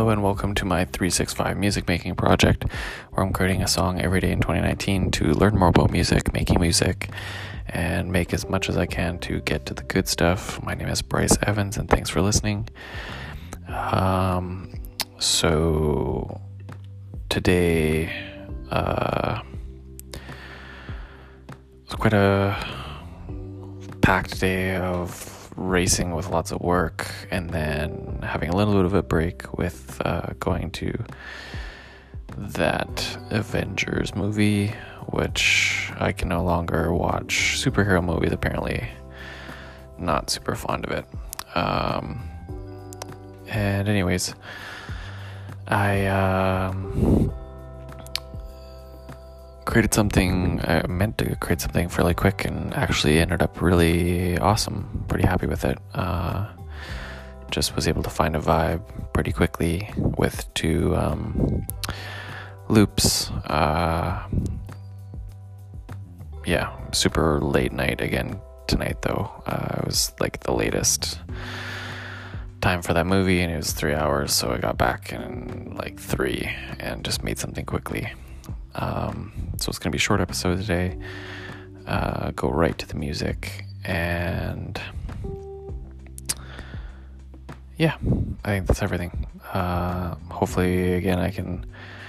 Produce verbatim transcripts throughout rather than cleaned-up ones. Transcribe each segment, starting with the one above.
Hello and welcome to my three sixty-five music making project, where I'm creating a song every day in twenty nineteen to learn more about music, making music, and make as much as I can to get to the good stuff. My name is Bryce Evans, and thanks for listening. Um, so today, uh, it's quite a packed day of racing with lots of work, and then having a little bit of a break with uh, going to that Avengers movie, which I can no longer watch superhero movies, apparently. Not super fond of it. Um, and anyways, I um, created something, I meant to create something fairly quick and actually ended up really awesome. Pretty happy with it. Uh, just was able to find a vibe pretty quickly with two um, loops. Uh, yeah, super late night again tonight though. Uh, it was like the latest time for that movie, and it was three hours, so I got back in like three and just made something quickly. Um, so it's going to be a short episode today, uh, go right to the music, and yeah, I think that's everything. Uh, hopefully, again, I can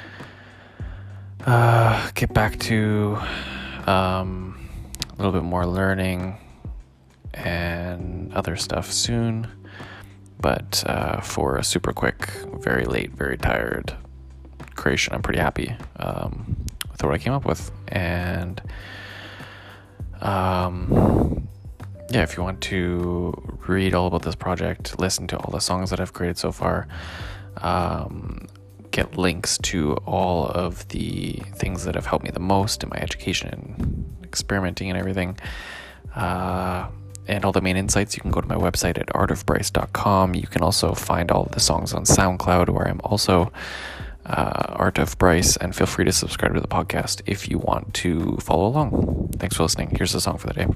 uh, get back to um, a little bit more learning and other stuff soon, but uh, for a super quick, very late, very tired creation, I'm pretty happy um, with what I came up with. And um, yeah, if you want to read all about this project, listen to all the songs that I've created so far, um, get links to all of the things that have helped me the most in my education and experimenting and everything, uh, and all the main insights, you can go to my website at art of bryce dot com. You can also find all of the songs on SoundCloud, where I'm also Uh, Art of Bryce, and feel free to subscribe to the podcast if you want to follow along. Thanks for listening. Here's the song for the day.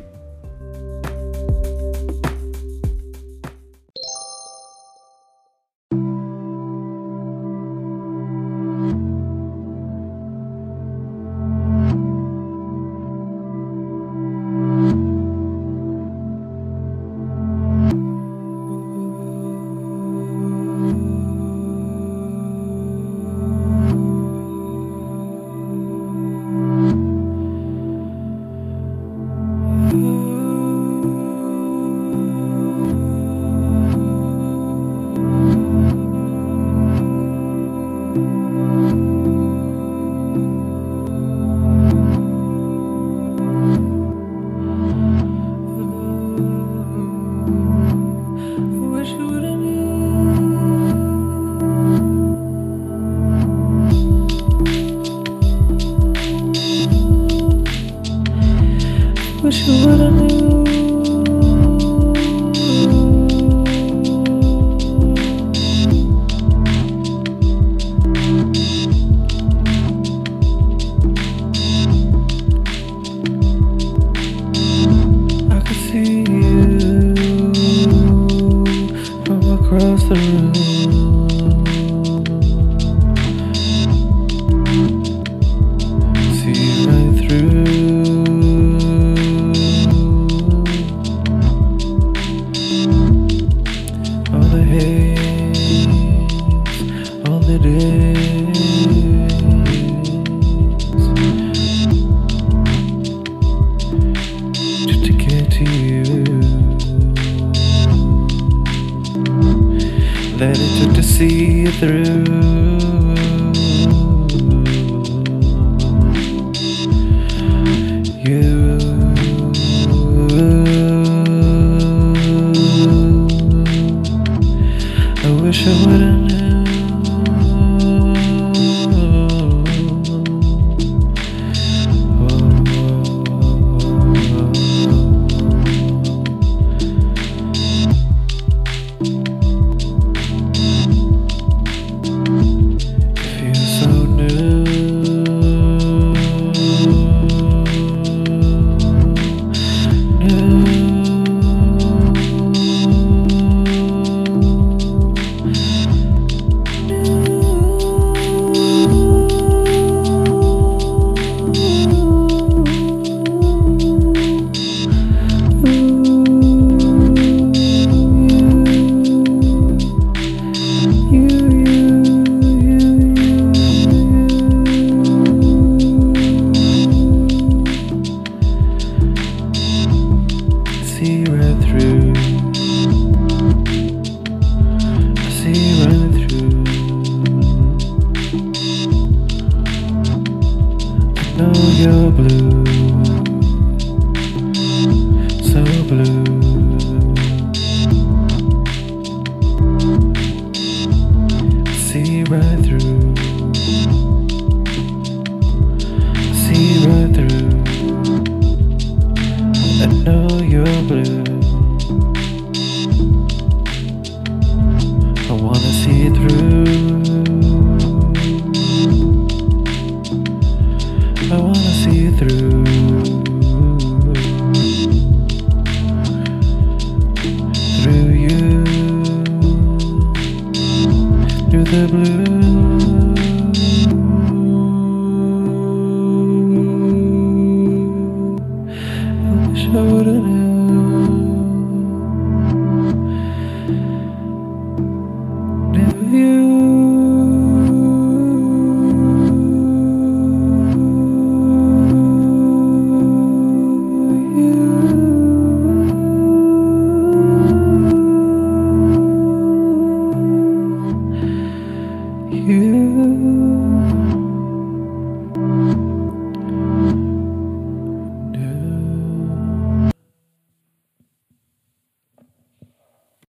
Wish you would've knew. I could see you from across the room. See right through all the days, just to get to you, that it took to see it through. You, I wish I would've known. know you're blue, so blue. See right through, see right through. I know you're blue. I wanna see through. I wanna see through.